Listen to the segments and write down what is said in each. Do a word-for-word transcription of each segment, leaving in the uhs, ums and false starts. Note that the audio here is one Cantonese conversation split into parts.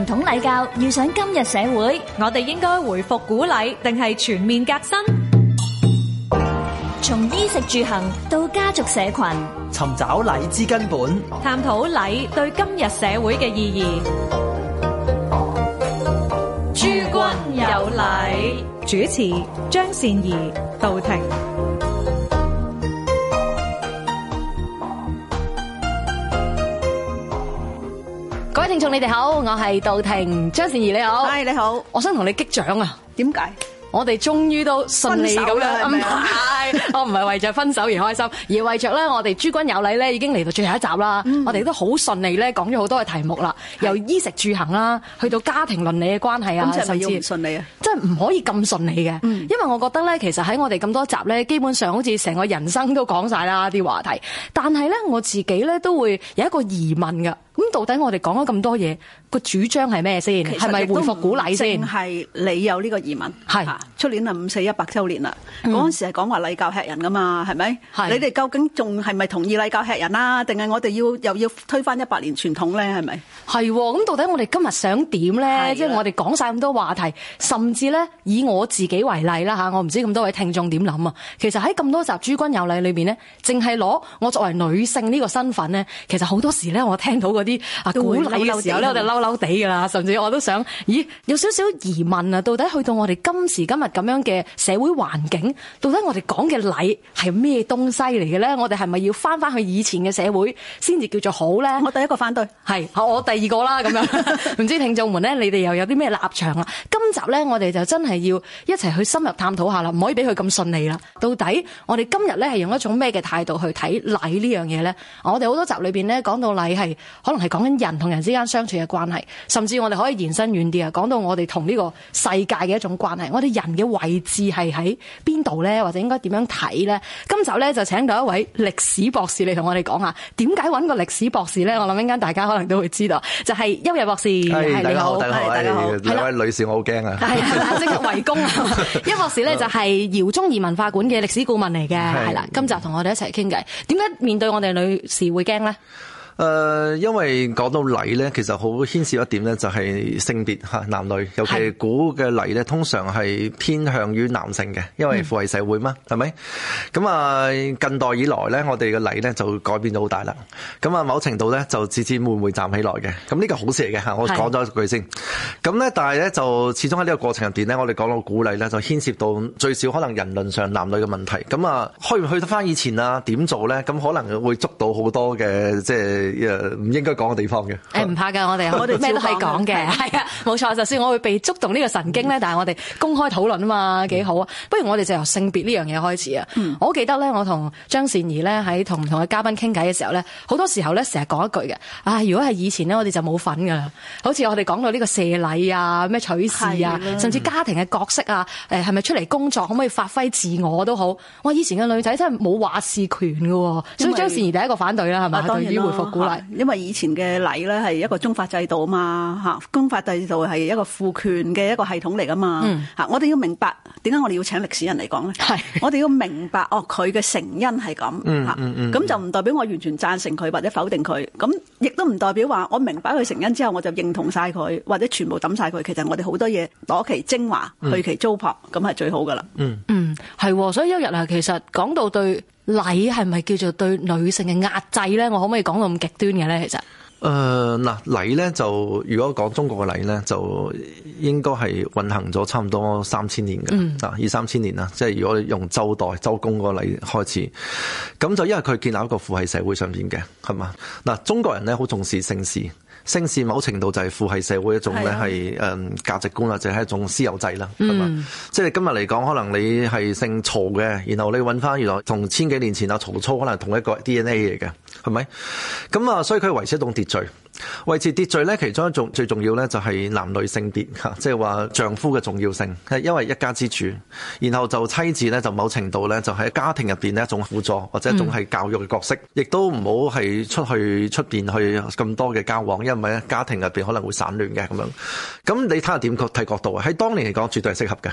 傳統禮教遇上今日社會， 我哋應該回復古禮定係全面革新？ 從衣食住行到家族社群， 尋找禮之根本， 探討禮對今日社會嘅意義。諸君有禮，主持張善儀、杜婷。 各位聽眾，你哋好，我係杜婷，張善儀你好。 係你好， 我想同你擊掌啊！ 點解？ 我哋終於都順利咁樣，唔係，我唔係為着分手而開心，而為着咧，我哋諸君有禮咧已經嚟到最後一集啦。嗯、我哋都好順利咧講咗好多嘅題目啦，由衣食住行啦，去到家庭倫理嘅關係啊， 甚至唔順利啊， 真係唔可以咁順利嘅。嗯、因為我覺得咧，其實喺我哋咁多集咧，基本上好似成個人生都講晒啦啲話題，但係咧我自己咧都會有一個疑問噶。咁到底我哋講咗咁多嘢，個主張係咩先？係咪回復古禮先？ 係你有呢個疑問？ 係出年啊五四一百週年啦，嗰陣、嗯、時係講話禮教吃人噶嘛，係咪？ 係你哋究竟仲係咪同意禮教吃人啊？定係我哋要又要推翻一百年傳統咧？係咪？ 係咁，到底我哋今日想點咧？即係我哋講晒咁多話題，甚至咧以我自己為例啦吓，我唔知咁多位聽眾點諗啊。其實喺咁多集諸君有禮裏邊咧，淨係攞我作為女性呢個身份咧，其實好多時咧我聽到嗰啲啊古禮嘅時候咧，我哋嬲嬲地噶啦，甚至我都想，咦，有少少疑問啊！到底去到我哋今時今日咁樣嘅社會環境，到底我哋講嘅禮係咩東西嚟嘅咧？我哋係咪要翻翻去以前嘅社會先至叫做好咧？ 我第一個反對， 係我第二個啦，咁樣唔知聽眾們咧，你哋又有啲咩立場啊？今集咧，我哋就真係要一齊去深入探討下啦，唔可以俾佢咁順利啦。到底我哋今日咧係用一種咩嘅態度去睇禮呢樣嘢咧？我哋好多集裏邊咧講到禮係可能係講緊人同人之間相處嘅關係，甚至我哋可以延伸遠啲啊，講到我哋同呢個世界嘅一種關係。我哋人嘅位置係喺邊度咧？或者應該點樣睇咧？今集咧就請到一位歷史博士嚟同我哋講下，點解揾個歷史博士咧？我諗一陣大家可能都會知道，就係邱逸博士。 係， 你好， 大家好，大家好。兩位女士，我好驚啊！ 係啊，即刻圍攻啊！邱博士咧就係饒宗頤文化館嘅歷史顧問嚟嘅，係啦。今集同我哋一齊傾偈，點解面對我哋女士會驚咧？ 誒、呃，因為講到禮咧，其實好牽涉一點咧，就係性別嚇男女，尤其古嘅禮咧，通常係偏向於男性嘅，因為父系社會嘛，係咪、嗯？咁啊，近代以來咧，我哋嘅禮咧就改變咗好大啦。咁啊，某程度咧就自自會會站起來嘅。咁呢個好事嚟嘅嚇，我講咗一句先。咁咧，但係咧就始終喺呢個過程入邊咧，我哋講到古禮咧，就牽涉到最少可能人倫上男女嘅問題。咁啊，去唔去得翻以前啊？點做咧？咁可能會捉到好多嘅即係。誒唔應該講嘅地方嘅， 誒唔怕㗎，我哋我哋咩都可以講嘅，係啊，冇錯。就算我會被觸動呢個神經咧，但係我哋公開討論啊嘛，幾好啊！不如我哋就由性別呢樣嘢開始啊！嗯、我記得咧，我同張善儀咧喺同唔同嘅嘉賓傾偈嘅時候咧，好多時候咧成日講一句嘅，啊，如果係以前咧，我哋就冇份㗎啦。好似我哋講到呢個射禮啊、咩取士啊，甚至家庭嘅角色啊，誒係咪出嚟工作可唔可以發揮自我都好。哇！以前嘅女仔真係冇話事權㗎喎，所以張善儀第一個反對啦，係咪？對於回復古禮。 因為以前嘅禮咧係一個宗法制度啊嘛，嚇，宗法制度係一個父權嘅一個系統嚟噶嘛，嚇、嗯，我哋要明白點解我哋要請歷史人嚟講咧？係，我哋要明白哦，佢嘅成因係咁，嚇、嗯，咁、嗯嗯、就唔代表我完全贊成佢或者否定佢，咁亦都唔代表話我明白佢成因之後我就認同晒佢或者全部抌晒佢。其實我哋好多嘢攞其精華去其糟粕，咁係、嗯、最好噶啦。嗯嗯，係，所以有日啊，其實講到對禮係咪叫做對女性嘅壓制咧？我可唔可以講到咁極端嘅咧？其實誒嗱，禮咧就如果講中國嘅禮咧，就應該係運行咗差唔多三千年嘅，嗯、啊二三千年啦。即係如果用周代周公個禮開始，咁就因為佢建立一個父系社會上邊嘅，係嘛？嗱，中國人咧好重視姓氏。姓氏某程度就係父系社會一種咧係誒價值觀，或者係一種私有制啦，係嘛？嗯、即係今日嚟講，可能你係姓曹嘅，然後你揾翻原來同千幾年前啊曹操可能同一個 D N A 嚟嘅，係咪？咁啊，所以佢維持一種秩序。維持秩序咧，其中一種最重要咧就係男女性別嚇，即係話丈夫嘅重要性，係因為一家之主，然後就妻子咧就某程度咧就喺家庭入邊呢一種輔助或者一種係教育嘅角色，亦、嗯、都唔好係出去出邊去咁多嘅交往，因為咧家庭入邊可能會散亂嘅咁樣。咁你睇下點睇角度啊？喺當年嚟講，絕對係適合嘅。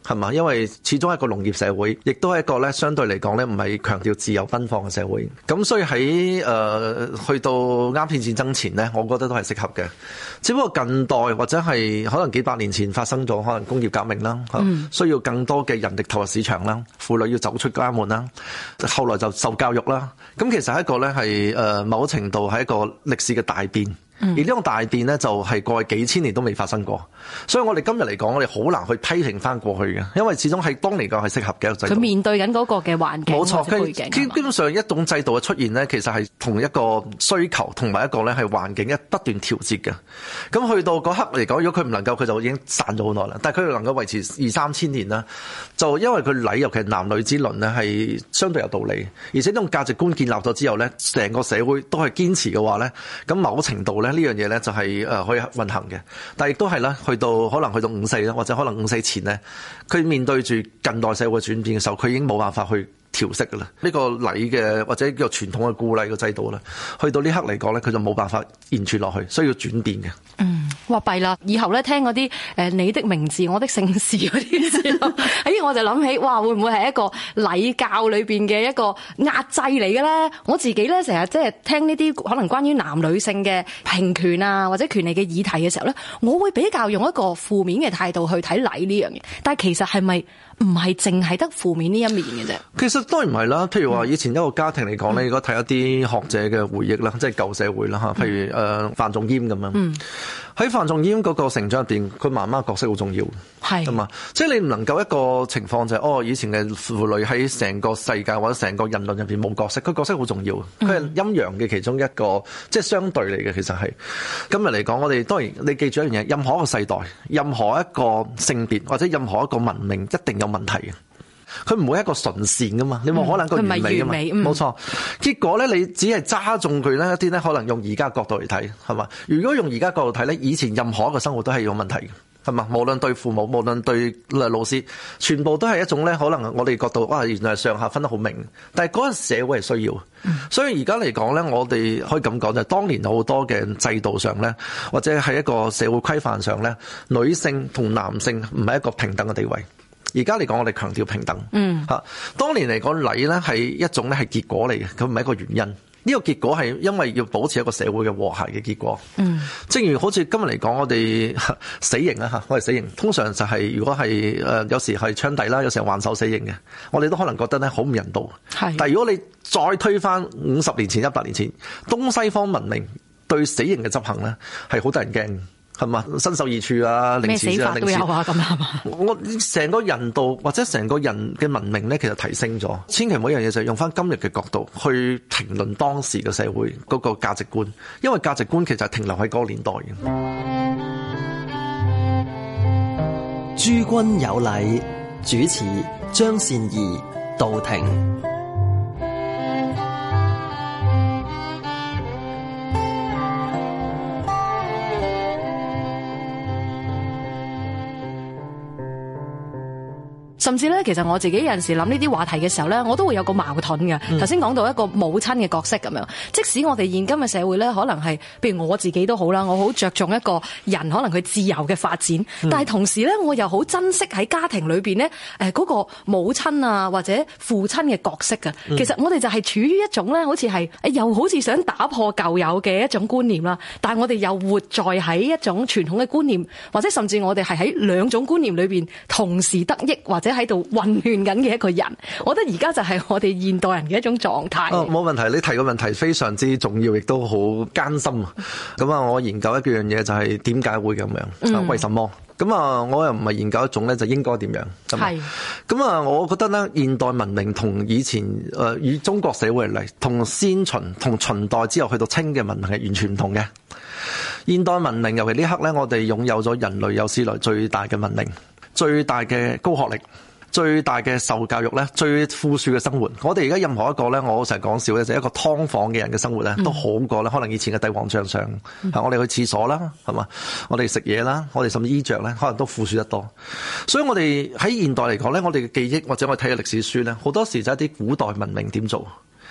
係嘛？因為始終係一個農業社會，亦都係一個咧相對嚟講咧唔係強調自由奔放嘅社會。咁所以喺誒、呃、去到鴉片戰爭前咧，我覺得都係適合嘅。只不過近代或者係可能幾百年前發生咗可能工業革命啦，嗯、需要更多嘅人力投入市場啦，婦女要走出家門啦，後來就受教育啦。咁其實係一個咧係誒某程度係一個歷史嘅大變。而呢種大變呢，就係過去幾千年都未發生過，所以我哋今日嚟講，我哋好難去批評翻過去嘅，因為始終係當年講係適合嘅一個制度。 佢面對緊嗰個嘅環境， 冇錯， 佢基基本上一種制度嘅出現呢，其實係同一個需求同埋一個咧係環境一不斷調節嘅。咁去到嗰刻嚟講，如果佢唔能夠，佢就已經散咗好耐啦。但係佢能夠維持二三千年啦，就因為佢禮，尤其係男女之倫呢，係相對有道理，而且呢種價值觀建立咗之後呢，成個社會都係堅持嘅話呢，咁某程度呢，呢樣嘢呢就係誒可以運行嘅。但係亦都係啦，去到可能去到五四啦，或者可能五四前呢，佢面對住近代社會轉變嘅時候，佢已經冇辦法去調適㗎啦。呢個禮嘅或者叫做傳統嘅故禮嘅制度啦，去到呢刻嚟講咧，佢就冇辦法延續落去，需要轉變嘅。 嗯，哇弊啦！以後咧聽嗰啲誒你的名字我的姓氏嗰啲時候，哎我就諗起，哇會唔會係一個禮教裏邊嘅一個壓制嚟嘅咧？我自己咧成日即係聽呢啲可能關於男女性嘅平權啊或者權利嘅議題嘅時候咧，我會比較用一個負面嘅態度去睇禮呢樣嘢。但係其實係咪唔係淨係得負面呢一面嘅啫？ 其實當然唔係啦。譬如話以前一個家庭嚟講咧，如果睇一啲學者嘅回憶啦，即係舊社會啦嚇，譬如誒范仲淹咁樣。嗯喺范仲淹嗰個成長入邊，佢媽媽角色好重要，係咁啊！即係你唔能夠一個情況就係、是、哦，以前嘅婦女喺成個世界或者成個人類入邊冇角色，佢角色好重要，佢係陰陽嘅其中一個，即係相對嚟嘅。其實係今日嚟講，我哋當然你記住一樣嘢，任何一個世代、任何一個性別或者任何一個文明，一定有問題嘅。佢唔會係一個純善噶嘛，你冇可能一個完美噶嘛，冇錯、嗯。結果咧，你只係揸中佢咧一啲咧，可能用而家角度嚟睇，係嘛？如果用而家角度睇咧，以前任何一個生活都係有問題嘅，係嘛？無論對父母，無論對老師，全部都係一種咧，可能我哋角度哇，原來上下分得好明。但係嗰陣社會係需要，嗯、所以而家嚟講咧，我哋可以咁講就係，當年好多嘅制度上咧，或者係一個社會規範上咧，女性同男性唔係一個平等嘅地位。而家嚟講，我哋強調平等。嗯，嚇，當年嚟講禮咧係一種咧係結果嚟嘅，佢唔係一個原因。呢個結果係因為要保持一個社會嘅和諧嘅結果。嗯，正如好似今日嚟講，我哋死刑啊嚇，我哋死刑通常就係如果係誒有時係槍斃啦，有時係還手死刑嘅，我哋都可能覺得咧好唔人道。係，但係如果你再推翻五十年前、一百年前，東西方文明對死刑嘅執行咧係好得人驚。係嘛？身首異處啊， 咩死法都有啊，咁係嘛？ 我成個人道或者成個人嘅文明咧，其實提升咗。千祈每樣嘢就係用翻今日嘅角度去評論當時嘅社會嗰個價值觀，因為價值觀其實係停留喺嗰個年代嘅。 諸君有禮，主持張善儀道庭。 甚至咧，其實我自己有陣時諗呢啲話題嘅時候咧，我都會有個矛盾嘅。頭先講到一個母親嘅角色咁樣，即使我哋現今嘅社會咧，可能係，譬如我自己都好啦，我好着重一個人可能佢自由嘅發展，嗯、但係同時咧，我又好珍惜喺家庭裏邊咧，誒嗰個母親啊或者父親嘅角色嘅。其實我哋就係處於一種咧，好似係又好似想打破舊有嘅一種觀念啦，但係我哋又活在喺一種傳統嘅觀念，或者甚至我哋係喺兩種觀念裏邊同時得益或者喺度混亂緊嘅一個人，我覺得而家就係我哋現代人嘅一種狀態。 哦，冇問題，你提個問題非常之重要，亦都好艱辛。咁啊，我研究一樣嘢就係點解會咁樣？嗯、為什麼？咁啊，我又唔係研究一種咧，就應該點樣？係。咁啊，我覺得咧，現代文明同以前誒與中國社會嚟，同先秦同秦代之後去到清嘅文明係完全唔同嘅。現代文明尤其呢刻咧，我哋擁有咗人類有史來最大嘅文明。最大嘅高學歷，最大嘅受教育咧，最富庶嘅生活。我哋而家任何一個咧，我成日講笑咧，就係一個劏房嘅人嘅生活咧，都好過咧，可能以前嘅帝王將相。嗯、我哋去廁所啦，係嘛？我哋食嘢啦，我哋甚至衣着咧，可能都富庶得多。所以我哋喺現代嚟講咧，我哋嘅記憶或者我哋睇嘅歷史書咧，好多時就係一啲古代文明點做。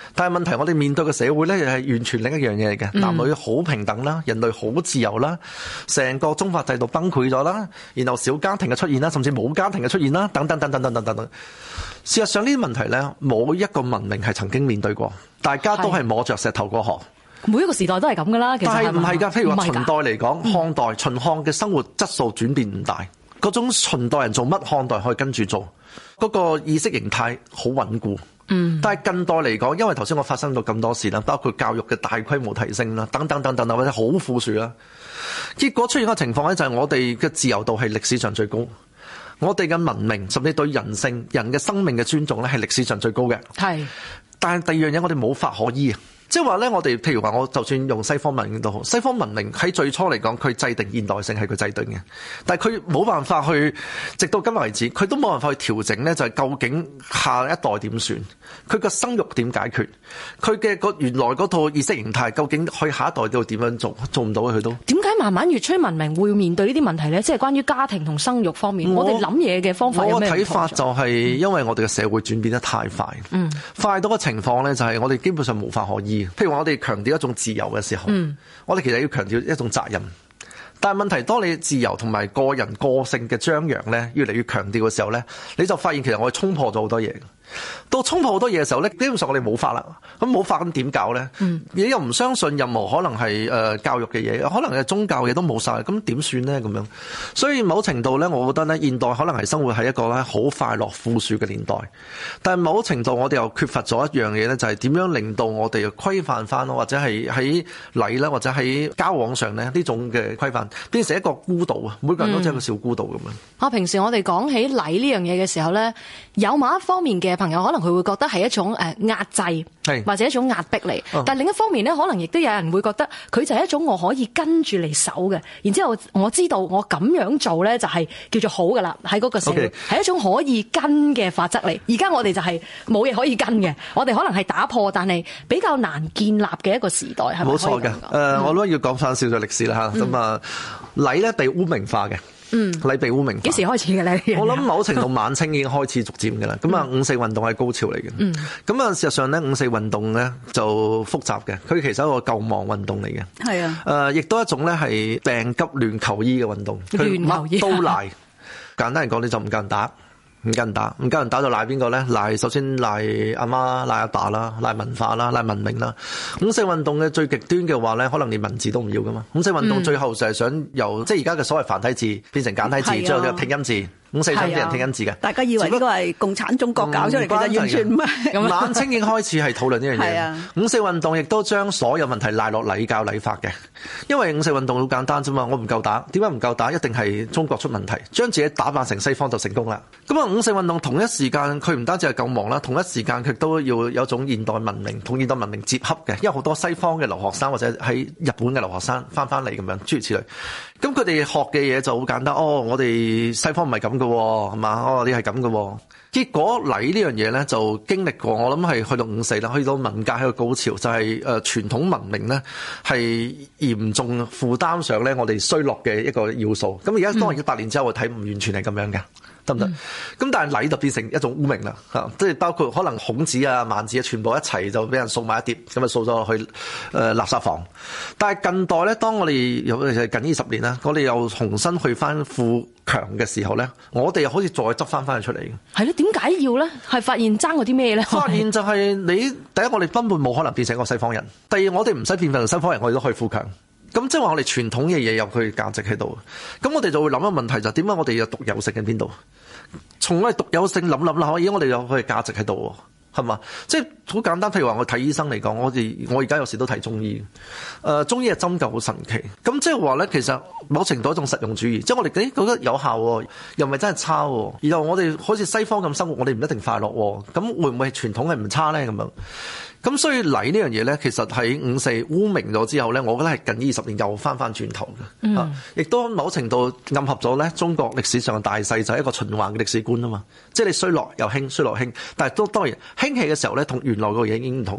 但係問題我哋面對嘅社會咧，係完全另一樣嘢嚟嘅。嗯、男女好平等啦，人類好自由啦，成個宗法制度崩潰咗啦，然後小家庭嘅出現啦，甚至冇家庭嘅出現啦，等等等等等等等等。事實上呢啲問題咧，冇一個文明係曾經面對過，大家都係摸着石頭過河。 每一個時代都係咁噶啦，其實係唔係㗎？ 譬如話秦代嚟講，漢代、秦漢嘅生活質素轉變唔大，嗰種秦代人做乜，漢代可以跟住做，嗰個意識形態好穩固。嗯，但係近代嚟講，因為頭先我發生到咁多事啦，包括教育嘅大規模提升啦，等等等等或者好富庶啦，結果出現嘅情況咧，就係我哋嘅自由度係歷史上最高，我哋嘅文明甚至對人性、人嘅生命嘅尊重咧，係歷史上最高嘅。係，但係第二樣嘢，我哋冇法可依啊。即係話咧，我哋譬如話，我就算用西方文明都好，西方文明喺最初嚟講，佢制定現代性係佢制定嘅，但係佢冇辦法去，直到今日為止，佢都冇辦法去調整咧，就係究竟下一代點算，佢個生育點解決，佢嘅個原來嗰套意識形態，究竟去下一代度點樣做，做唔到佢都。點解慢慢越趨文明會面對呢啲問題咧？即係關於家庭同生育方面，我哋諗嘢嘅方法有咩唔同？我嘅睇法就係因為我哋嘅社會轉變得太快，嗯，快到嘅情況咧，就係我哋基本上無法可依。譬如話我哋強調一種自由嘅時候，嗯、我哋其實要強調一種責任。但係問題，當你自由同埋個人個性嘅張揚咧，越嚟越強調嘅時候咧，你就發現其實我哋衝破咗好多嘢。到衝破好多嘢嘅時候咧，基本上我哋冇法啦。咁冇法咁點搞咧？嗯、你又唔相信任何可能係誒教育嘅嘢，可能係宗教嘅嘢都冇晒，咁點算咧？咁樣，所以某程度咧，我覺得咧，現代可能係生活喺一個咧好快樂富庶嘅年代，但係某程度我哋又缺乏咗一樣嘢咧，就係點樣令到我哋規範翻咯，或者係喺禮啦，或者喺交往上咧呢種嘅規範變成一個孤島啊！每個人都似一個小孤島咁樣。啊、嗯，平時我哋講起禮呢樣嘢嘅時候咧，有某一方面嘅朋友可能佢會覺得係一種誒壓制，或者一種壓迫嚟。嗯、但係另一方面咧，可能亦都有人會覺得佢就係一種我可以跟住嚟守嘅。然之後我知道我咁樣做咧就係叫做好噶啦，喺嗰個社會係 Okay. 一種可以跟嘅法則嚟。而家我哋就係冇嘢可以跟嘅，我哋可能係打破，但係比較難建立嘅一個時代，係咪？冇錯嘅。誒、呃，我都要講翻少少歷史啦嚇。咁啊、嗯，禮咧被污名化嘅。嗯，禮被污名化幾時開始嘅咧？我諗某程度晚清已經開始逐漸嘅啦。咁啊、嗯，五四運動係高潮嚟嘅。嗯，咁啊，事實上咧，五四運動咧就複雜嘅。佢其實係一個救亡運動嚟嘅。係啊。誒、呃，亦都一種咧係病急亂求醫嘅運動。亂求醫。都賴。簡單嚟講，你就唔夠人打。唔夠人打，唔夠人打就賴邊個咧？賴首先賴阿媽、賴阿爸啦，賴文化啦，賴文明啦。五四運動嘅最極端嘅話咧，可能連文字都唔要噶嘛。五四運動最後就係想由、嗯、即係而家嘅所謂繁體字變成簡體字，最後就拼音字。五四想啲人拼音字嘅，大家以為呢個係共產中國搞出嚟，其實完全唔係。晚清已經開始係討論呢樣嘢。五四運動亦都將所有問題賴落禮教禮法嘅，因為五四運動好簡單啫嘛，我唔夠打，點解唔夠打？一定係中國出問題，將自己打扮成西方就成功啦。咁啊，五四運動同一時間佢唔單止係救亡啦，同一時間佢都要有種現代文明同現代文明接洽嘅，因為好多西方嘅留學生或者喺日本嘅留學生翻翻嚟咁樣，諸如此類。咁佢哋學嘅嘢就好簡單，哦，我哋西方唔係咁嘅，係嘛？哦，你係咁嘅。結果禮呢樣嘢咧就經歷過，我諗係去到五四啦，去到文革喺個高潮，就係誒傳統文明咧係嚴重負擔上咧我哋衰落嘅一個要素。咁而家當然一百年之後我睇唔完全係咁樣嘅。得唔得？咁、嗯、但係禮就變成一種污名啦，嚇！即係包括可能孔子啊、孟子啊，全部一齊就俾人掃埋一碟，咁啊掃咗落去誒、呃、垃圾房。但係近代咧，當我哋尤其係近二十年啦，我哋又重新去翻富強嘅時候咧，我哋又好似再執翻翻佢出嚟嘅。係咧，點解要咧？係發現爭嗰啲咩咧？發現就係你第一，我哋根本冇可能變成一個西方人；第二，我哋唔使變成西方人，我哋都可以富強。咁即係話我哋傳統嘅嘢有佢價值喺度，咁我哋就會諗一個問題，就係點解我哋有獨有性喺邊度？從我哋獨有性諗諗啦，而家我哋有佢嘅價值喺度，係嘛？即係好簡單，譬如話我睇醫生嚟講，我哋我而家有時都睇中醫，誒、呃、中醫嘅針灸好神奇。咁即係話咧，其實某程度一種實用主義，即係我哋誒覺得有效，又唔係真係差。然後我哋好似西方咁生活，我哋唔一定快樂。咁會唔會傳統係唔差咧？咁樣？咁所以禮呢樣嘢咧，其實喺五四污名咗之後咧，我覺得係近二十年又翻翻轉頭嘅，嗯、啊，亦都某程度暗合咗咧中國歷史上嘅大勢，就係一個循環嘅歷史觀啊嘛。即係你衰落又興，衰落興，但係都當然興起嘅時候咧，同原來個嘢已經唔同咗。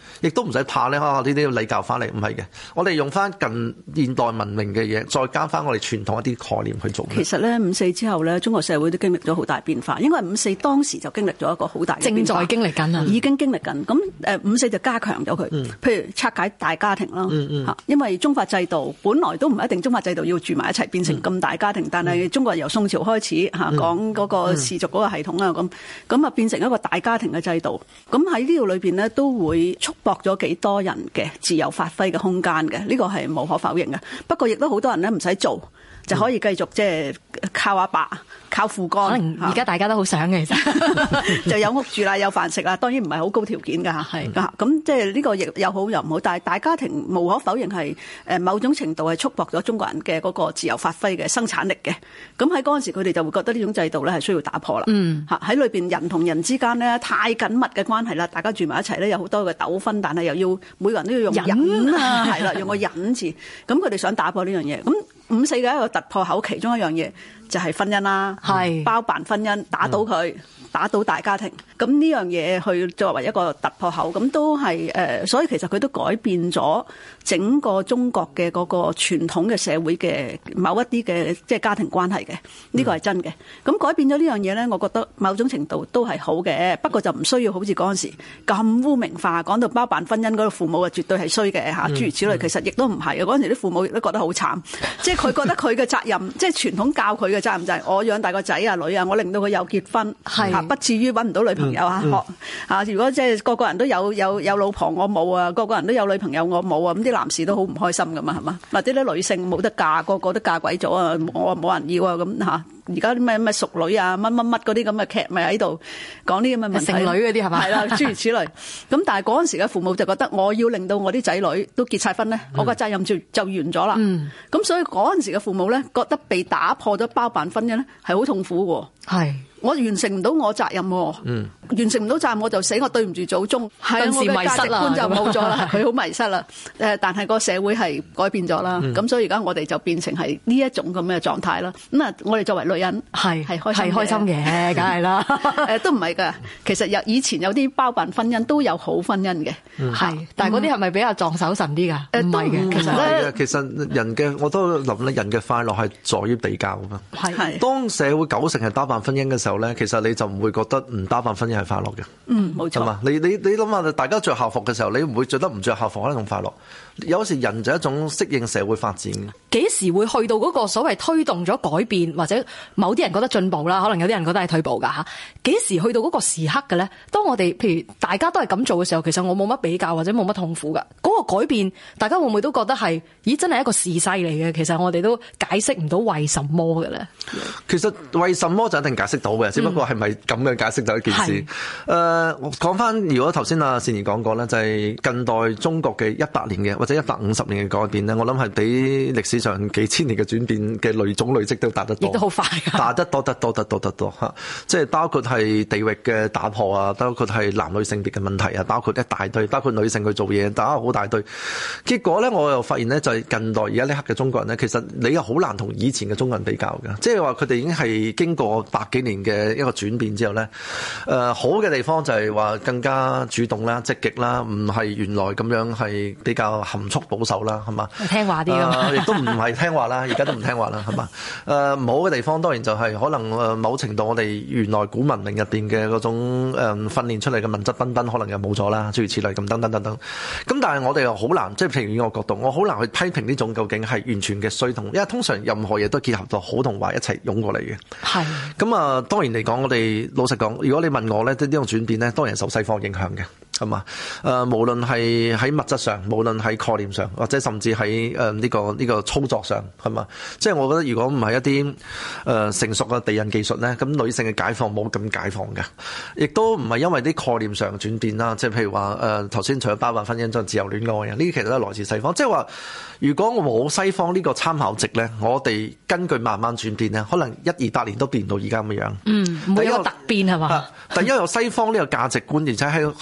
亦都唔使怕咧。啊，呢啲禮教翻嚟唔係嘅，我哋用翻近現代文明嘅嘢，再加翻我哋傳統一啲概念去做。 其實咧五四之後咧，中國社會都經歷咗好大變化，因為五四當時就經歷咗一個好大嘅變化， 正在經歷緊啊， 已經經歷緊。咁誒五四就加強咗佢，嗯、譬如拆解大家庭啦，嚇、嗯嗯，因為宗法制度本來都唔一定宗法制度要住埋一齊變成咁大家庭，嗯、但係中國由宋朝開始嚇講嗰個氏族嗰個系統啊，咁咁啊變成一個大家庭嘅制度。咁喺呢度裏邊咧都會束縛咗幾多人嘅自由發揮嘅空間嘅，呢個係無可否認嘅。不過亦都好多人咧唔使做就可以繼續即係靠阿爸，靠父幹。可能而家大家都好想嘅，其實就有屋住啦，有飯食啦，當然唔係好高條件㗎嚇。係咁即係呢個亦有好有唔好，但係大家庭無可否認係誒某種程度係束縛咗中國人嘅嗰個自由發揮嘅生產力嘅。咁喺嗰陣時佢哋就會覺得呢種制度咧係需要打破啦。嗯，嚇喺裏邊人同人之間咧太緊密嘅關係啦，大家住埋一齊咧有好多嘅糾紛，但係又要每個人都要用忍啊，係啦，用個忍字。咁佢哋想打破呢樣嘢。咁五四嘅一個突破口，其中一樣嘢就係婚姻啦，係包辦婚姻，打倒佢，嗯、打倒大家庭。咁呢樣嘢去作為一個突破口，咁都係誒、呃，所以其實佢都改變咗整個中國嘅嗰個傳統嘅社會嘅某一啲嘅即係家庭關係嘅，呢個係真嘅。咁、嗯、改變咗呢樣嘢咧，我覺得某種程度都係好嘅，不過就唔需要好似嗰陣時咁污名化，講到包辦婚姻嗰個父母啊，絕對係衰嘅嚇，諸如此類。其實亦都唔係嘅，嗰陣時啲父母亦都覺得好慘，即係佢覺得佢嘅責任，即係傳統教佢嘅責任就係我養大個仔啊女啊，我令到佢有結婚，嚇不至於揾唔到女朋友啊學嚇。如果即係個個人都有有有老婆，我冇啊；個個人都有女朋友，我冇啊。咁啲男士都好唔開心噶嘛，係嘛？或者啲女性冇得嫁，個個都嫁鬼咗啊，我冇人要啊咁嚇。而家啲咩咩淑女啊，乜乜乜嗰啲咁嘅劇咪喺度講啲咁嘅問題，剩女嗰啲係嘛？係啦，諸如此類。咁但係嗰陣時嘅父母就覺得我要令到我啲仔女都結晒婚咧，嗯、我個責任就就完咗啦。咁、嗯、所以嗰陣時嘅父母咧，覺得被打破咗包辦婚姻咧，係好痛苦嘅。係。我完成唔到我責任，嗯、完成唔到責任我就死，我對唔住祖宗，係我嘅價值觀就冇咗啦，佢好迷失啦。誒，但係個社會係改變咗啦，咁、嗯、所以而家我哋就變成係呢一種咁嘅狀態啦。咁啊，我哋作為女人係係開係開心嘅，梗係啦。誒，都唔係㗎，其實有以前有啲包辦婚姻都有好婚姻嘅，係、嗯，但係嗰啲係咪比較撞手神啲㗎？唔係嘅，其實咧， 其實人嘅我都諗咧，人嘅快樂係在於比較啊嘛。係，當社會九成係包辦婚姻嘅時候，其實你就唔會覺得唔包辦婚姻係快樂嘅。嗯，冇錯。你你你諗下，大家着校服嘅時候，你唔會着得唔着校服可能咁快樂。有時人就係一種適應社會發展嘅。 幾時會去到嗰個所謂推動咗改變，或者某啲人覺得進步啦，可能有啲人覺得係退步㗎嚇。幾時去到嗰個時刻嘅咧？當我哋譬如大家都係咁做嘅時候，其實我冇乜比較或者冇乜痛苦㗎。嗰、嗰個改變，大家會唔會都覺得係？咦，真係一個時勢嚟嘅。其實我哋都解釋唔到為什麼嘅咧。 其實為什麼就一定解釋到嘅，只不過係咪咁樣解釋到一件事？誒、嗯，我講翻，如果頭先阿善兒講過咧，就係、是、近代中國嘅一百年嘅或者一百五十年嘅改變咧，我諗係比歷史上幾千年嘅轉變嘅累總累積都大得多，亦都好快，大得多得多得多得多嚇。即係包括係地域嘅打破啊，包括係男女性別嘅問題啊，包括一大堆，包括女性去做嘢打好大堆。結果咧，我又發現咧，就係近代而家呢刻嘅中國人咧，其實你又好難同以前嘅中國人比較嘅，即係話佢哋已經係經過百幾年嘅一個轉變之後咧，誒、呃、好嘅地方就係話更加主動啦、積極啦，唔係原來咁樣係比較含蓄保守啦，係嘛？ 聽話啲㗎， 亦都唔係聽話啦，而家都唔聽話啦，係嘛？誒、呃、唔好嘅地方當然就係可能誒某程度我哋原來古文明入邊嘅嗰種誒、呃、訓練出嚟嘅文質彬彬，可能又冇咗啦，諸如此類咁等等等等。咁但係我哋又好難，即係譬如以我角度，我好難去批評呢種究竟係完全嘅衰同，因為通常任何嘢都結合到好同壞一齊湧過嚟嘅。係。咁啊，當然嚟講，我哋老實講，如果你問我咧，呢種轉變咧，當然受西方影響嘅。係嘛？誒、呃，無論係喺物質上，無論喺概念上，或者甚至喺誒呢個呢、呢個操作上，係嘛？即係我覺得，如果唔係一啲誒、呃、成熟嘅地印技術咧，咁女性嘅解放冇咁解放嘅，亦都唔係因為啲概念上轉變啦。即係譬如話誒頭先除咗包辦婚姻，仲自由戀愛啊，呢啲其實都係來自西方。即係話，如果我冇西方呢個參考值咧，我哋根據慢慢轉變咧，可能一二百年都變到而家咁樣。嗯，唔會有突變係嘛？第一有西方呢個價值觀，而且係而且我哋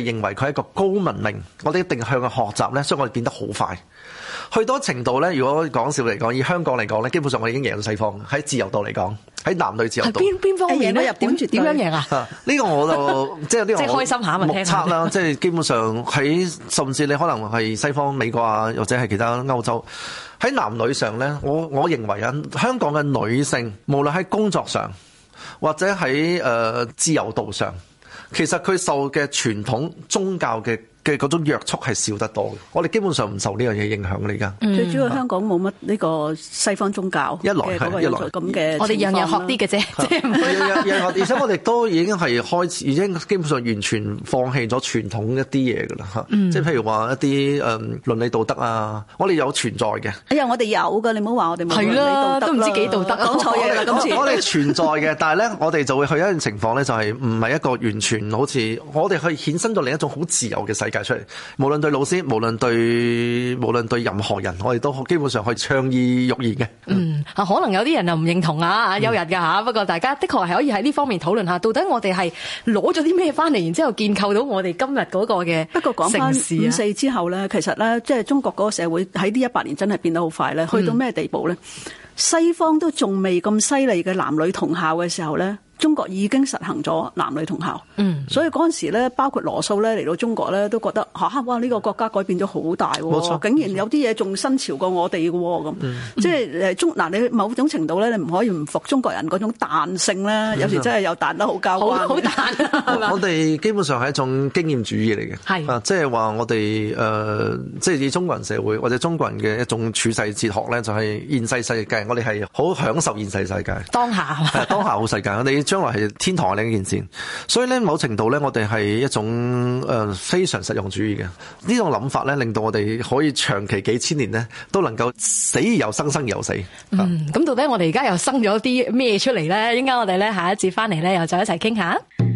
認為佢係一個高文明，我哋一定向佢學習咧，所以我哋變得好快。去到程度咧，如果講笑嚟講，以香港嚟講咧，基本上我哋已經贏到西方喺自由度嚟講，喺男女自由度。 邊邊方面咧？點點樣贏啊？ 呢、呢個我就即係呢個即係開心下咪聽目測啦，即係基本上喺甚至你可能係西方美國啊，或者係其他歐洲喺男女上咧，我我認為啊，香港嘅女性無論喺工作上或者喺誒、呃、自由度上，其實佢受嘅傳統宗教嘅嘅嗰種約束係少得多嘅，我哋基本上唔受呢樣嘢影響嚟㗎。 最主要香港冇乜呢個西方宗教一來係一來咁嘅， 我哋樣樣學啲嘅啫，即係樣樣學，而且我哋都已經係開始，已經基本上完全放棄咗傳統一啲嘢㗎啦嚇。即係譬如話一啲誒倫理道德啊，我哋有存在嘅。 哎呀，我哋有㗎，你唔好話我哋冇倫理道德啦， 都唔知幾道德， 講錯嘢啦今次。 我哋存在嘅，但係咧，我哋就會去一種情況咧，就係唔係一個完全好似我哋去衍生到另一種好自由嘅世界出嚟。無論對老師，無論對無論對任何人，我哋都基本上可以倡議欲言嘅。 嗯，啊，可能有啲人又唔認同啊，有人㗎嚇。不過大家的確係可以喺呢方面討論下，到底我哋係攞咗啲咩翻嚟，然之後建構到我哋今日嗰個嘅。 不過講翻五四之後咧，其實咧，即係中國嗰個社會喺呢一百年真係變得好快咧，去到咩地步咧？嗯、西方都仲未咁犀利嘅男女同校嘅時候咧。中國已經實行咗男女同校，嗯，所以嗰陣時咧，包括羅素咧嚟到中國咧，都覺得嚇、啊、哇呢、呢個國家改變咗好大喎，竟然有啲嘢仲新潮過我哋嘅喎咁，嗯、即係誒中嗱你某種程度咧，你唔可以唔服中國人嗰種彈性咧，嗯、有時真係有彈得好交關， 好彈。 我哋基本上係一種經驗主義嚟嘅，係啊，即係話我哋誒、呃，即係以中國人社會或者中國人嘅一種處世哲學咧，就係、是、現世世界，我哋係好享受現世世界， 當下係當下好世界，我哋。將來係天堂嘅另一件事，所以咧某程度咧，我哋係一種誒、呃、非常實用主義嘅呢種諗法咧，令到我哋可以長期幾千年咧都能夠死而又生，生而又死。 嗯，咁到底我哋而家又生咗啲咩出嚟咧？應該我哋咧下一節翻嚟咧，又再一齊傾下。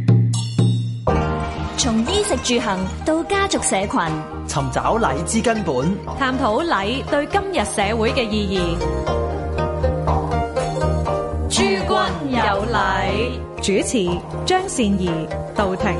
從衣食住行到家族社群， 尋找禮之根本， 探討禮對今日社會嘅意義。諸君有禮，主持張善儀道庭。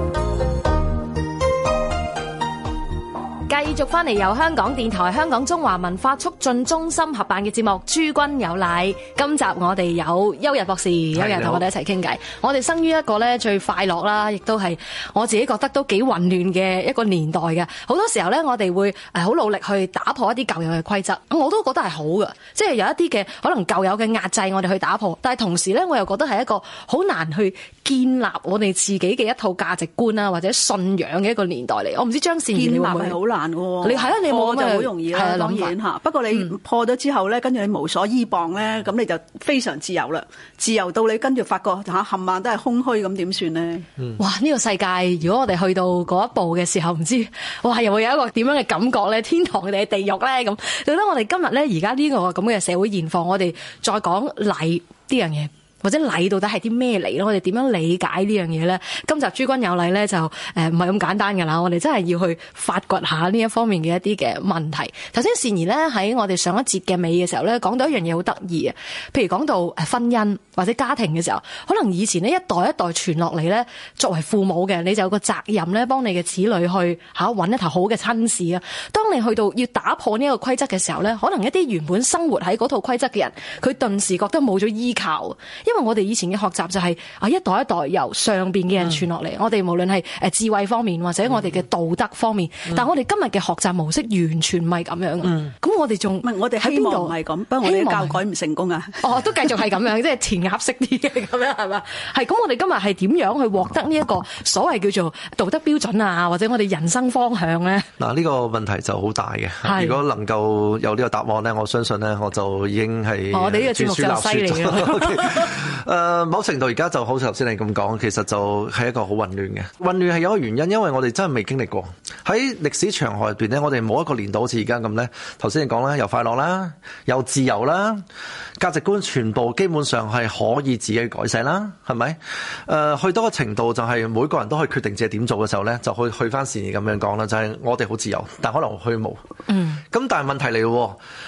繼續翻嚟由香港電台、香港中華文化促進中心合辦嘅節目《諸君有禮》。今集我哋有邱日博士，邱日同我哋一齊傾偈。我哋生於一個咧最快樂啦，亦都係我自己覺得都幾混亂嘅一個年代嘅。好多時候咧，我哋會誒好努力去打破一啲舊有嘅規則。我都覺得係好嘅，即係有一啲嘅可能舊有嘅壓制，我哋去打破。但係同時咧，我又覺得係一個好難去建立我哋自己嘅一套價值觀啊，或者信仰嘅一個年代嚟。我唔知張善儀你會唔會？ 建立係好難。 你係啊，你冇就好容易啦，當然嚇。不過你破咗之後咧，跟住你無所依傍咧，咁你就非常自由啦。自由到你跟住發覺嚇冚唪唥都係空虛，咁點算咧？ 哇！呢個世界，如果我哋去到嗰一步嘅時候，唔知哇，又會有一個點樣嘅感覺咧？天堂定係地獄咧？咁，到底我哋今日咧，而家呢個咁嘅社會現況，我哋再講禮呢樣嘢。或者禮到底係啲咩嚟咧？我哋點樣理解呢樣嘢咧？今集諸君有禮咧就誒唔係咁簡單㗎啦，我哋真係要去發掘下呢一方面嘅一啲嘅問題。頭先善儀咧喺我哋上一節嘅尾嘅時候咧講到一樣嘢好得意啊，譬如講到誒婚姻或者家庭嘅時候，可能以前呢一代一代傳落嚟咧，作為父母嘅你就有個責任咧，幫你嘅子女去嚇揾一頭好嘅親事啊。當你去到要打破呢一個規則嘅時候咧，可能一啲原本生活喺嗰套規則嘅人，佢頓時覺得冇咗依靠。因為我哋以前嘅學習就係啊一代一代由上邊嘅人傳落嚟，嗯、我哋無論係誒智慧方面或者我哋嘅道德方面，嗯、但係我哋今日嘅學習模式完全唔係咁樣嘅。咁、嗯、我哋仲唔係我哋喺邊度唔係咁？不過我哋教改唔成功啊！哦，都繼續係咁樣，即係填鴨式啲嘅咁樣係嘛？係咁，我哋今日係點樣去獲得呢一個所謂叫做道德標準啊，或者我哋人生方向咧？嗱，呢個問題就好大嘅。如果能夠有呢個答案咧，我相信咧我就已經係我哋呢個節目就犀利嘅。誒，某程度而家就好似頭先你咁講，其實就係一個好混亂嘅。混亂係有一個原因，因為我哋真係未經歷過喺歷史長河入邊咧，我哋冇一個年代好似而家咁咧。頭先你講啦，又快樂啦，又自由啦，價值觀全部基本上係可以自己改寫啦，係咪？誒、呃，去到個程度就係每個人都可以決定自己點做嘅時候咧，就去去翻善儀咁樣講啦，就係、是、我哋好自由，但可能虛無。嗯。咁但係問題嚟喎。誒、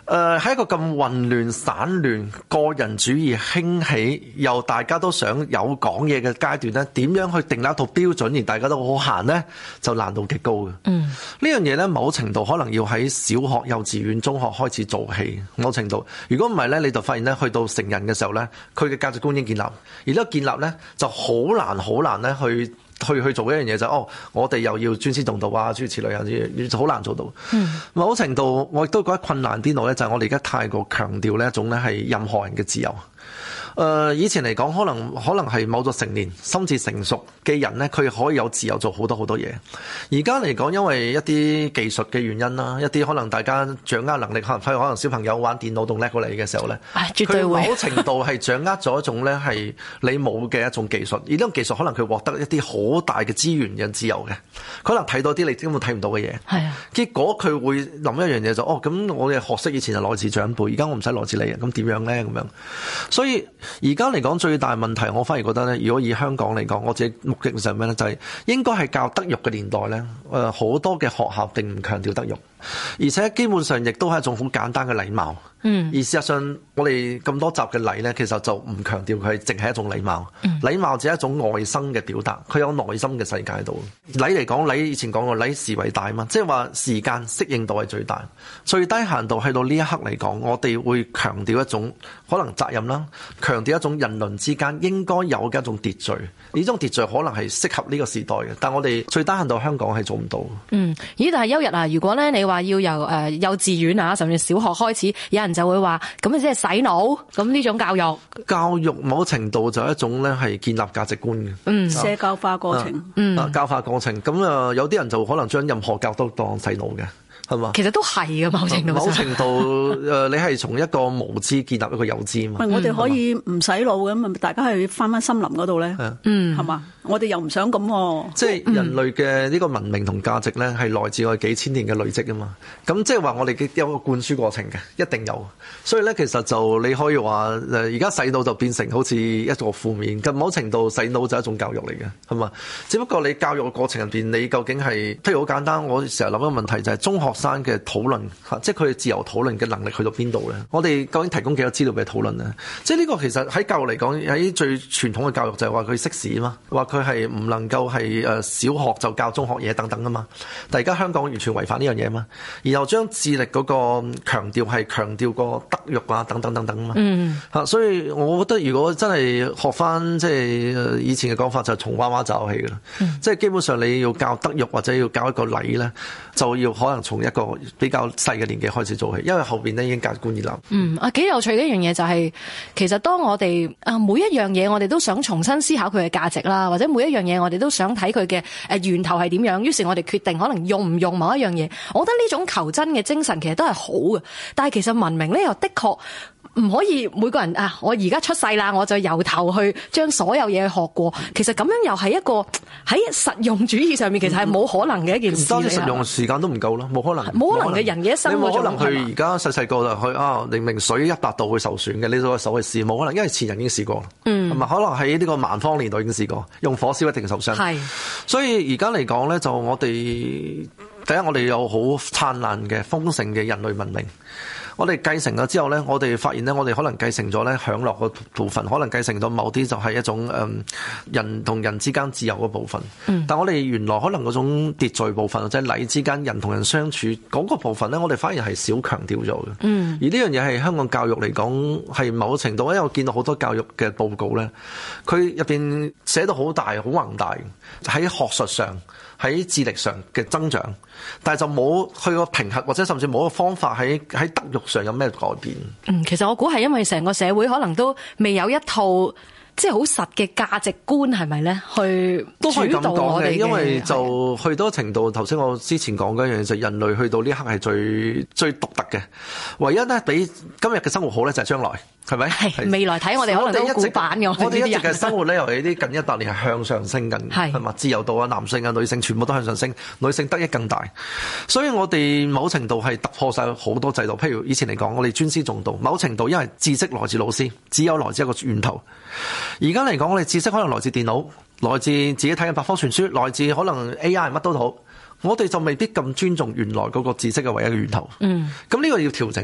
誒喺一個咁混亂、散亂、個人主義興起，又大家都想有講嘢嘅階段咧，點樣去定立一套標準，而大家都好行咧，就難度極高嘅。嗯，呢樣嘢咧，某程度可能要喺小學、幼稚園、中學開始做起。某程度，如果唔係咧，你就發現咧，去到成人嘅時候咧，佢嘅價值觀已經建立，而呢個建立咧就好難、好難咧去。去去做一樣嘢就係、哦，我哋又要尊師重道啊，諸如此類啊，好難做到。嗯，某程度我亦都覺得困難啲度咧，就係我哋而家太過強調呢一種咧係任何人嘅自由。誒、呃，以前嚟講，可能可能係某咗成年、心智成熟嘅人咧，佢可以有自由做好多好多嘢。而家嚟講，因為一啲技術嘅原因啦，一啲可能大家掌握能力，可能譬如可能小朋友玩電腦仲叻過你嘅時候咧， 絕對會。 佢某程度係掌握咗一種咧係你冇嘅一種技術，而呢種技術可能佢獲得一啲好大嘅資源嘅自由嘅，可能睇到啲你根本睇唔到嘅嘢。係啊，結果佢會諗一樣嘢就哦，咁我哋學識以前就來自長輩，而家我唔使來自你啊，咁點樣咧咁樣？所以而家嚟講最大問題，我反而覺得咧，如果以香港嚟講，我自己目的就係咩咧？就係、是、應該係教德育嘅年代咧。誒，好多嘅學校並唔強調德育，而且基本上亦都係一種好簡單嘅禮貌。嗯，而事實上，我哋咁多集嘅禮咧，其實就唔強調佢淨係一種禮貌。嗯、禮貌只係一種外生嘅表達，佢有內心嘅世界度。禮嚟講，禮以前講過，禮時為大嘛，即係話時間適應度係最大，最低限度去到呢一刻嚟講，我哋會強調一種可能責任啦，強調一種人倫之間應該有嘅一種秩序。呢種秩序可能係適合呢個時代嘅，但我哋最低限度香港係做唔到。 嗯，咦？但係邱日啊，如果咧你話要由誒、呃、幼稚園啊，甚至小學開始，有人就會話咁啊，即係洗腦咁呢種教育。教育某程度就係一種咧係建立價值觀嘅，嗯， 社交化過程， 啊、嗯，教化過程。咁啊，有啲人就可能將任何教都當洗腦嘅。係嘛？其實都係嘅，某程度。某程度，誒，你係從一個無知建立一個有知嘛？ 我哋可以唔洗腦咁，大家去翻翻森林嗰度咧，嗯，係嘛？我哋又唔想咁。 即係人類嘅呢個文明同價值咧，係來自我哋幾千年嘅累積啊嘛。咁即係話我哋有個灌輸過程嘅，一定有。所以咧，其實就你可以話誒，而家洗腦就變成好似一個負面。咁某程度洗腦就係一種教育嚟嘅，係嘛？只不過你教育嘅過程入邊，你究竟係，譬如好簡單，我成日諗一個問題就係中學生嘅討論嚇，即係佢哋自由討論嘅能力去到邊度咧？我哋究竟提供幾多資料俾討論咧？即係呢個其實喺教育嚟講，喺最傳統嘅教育就係話佢識時啊嘛，話佢係唔能夠係誒小學就教中學嘢等等啊嘛。但係而家香港完全違反呢樣嘢啊嘛，然後將智力嗰個強調係強調個德育啊等等等等啊嘛。嗯嚇，所以我覺得如果真係學翻即係以前嘅講法，就係從娃娃教起㗎啦。嗯、即係基本上你要教德育或者要教一個禮咧，就要可能從一個比較細嘅年紀開始做起，因為後邊咧已經價值觀建立。嗯啊，幾有趣嘅一樣嘢就係、是，其實當我哋啊每一樣嘢，我哋都想重新思考佢嘅價值啦，或者每一樣嘢我哋都想睇佢嘅誒源頭係點樣，於是我哋決定可能用唔用某一樣嘢。我覺得呢種求真嘅精神其實都係好嘅，但係其實文明咧又的確唔可以每個人啊，我而家出世啦，我就由頭去將所有嘢學過。其實咁樣又係一個喺實用主義上面，其實係冇可能嘅一件事。當然實用時間都唔夠咯，冇可能。冇可能嘅人嘅一生，你冇可能去而家細細個就去啊，明明水一百度會受損嘅，你攞手去試，冇可能，因為前人已經試過。嗯，係咪？可能喺呢個蠻荒年代已經試過，用火燒一定受傷。係，所以而家嚟講咧，就我哋第一，我哋有好燦爛嘅豐盛嘅人類文明。我哋繼承咗之後咧，我哋發現咧，我哋可能繼承咗咧享樂個部分，可能繼承咗某啲就係一種誒、嗯、人同人之間自由嘅部分。嗯、但我哋原來可能嗰種秩序部分，或者禮之間人同人相處嗰個部分咧，我哋反而係少強調咗嘅。嗯、而呢樣嘢係香港教育嚟講係某程度，因為我見到好多教育嘅報告咧，佢入邊寫到好大、好宏大，喺學術上、喺智力上嘅增長，但係就冇去個評核，或者甚至冇個方法喺喺德育上有咩改變？嗯，其實我估係因為成個社會可能都未有一套即係好實嘅價值觀，係咪咧？去都可以咁講嘅，因為就去到程度，頭先我之前講嗰樣嘢，就係、人類去到呢刻係最最獨特嘅，唯一咧比今日嘅生活好咧就係將來。係咪？係未來睇我哋可能都古板嘅。我哋一直嘅生活咧，尤其啲近一百年係向上升緊，係嘛？自由度啊，男性啊、女性全部都向上升，女性得益更大。所以我哋某程度係突破晒好多制度。譬如以前嚟講，我哋尊師重道，某程度因為知識來自老師，只有來自一個源頭。而家嚟講，我哋知識可能來自電腦，來自自己睇嘅百科全書，來自可能 A I 乜都好。我哋就未必咁尊重原來嗰個知識嘅唯一嘅源頭。嗯，咁呢個要調整啦。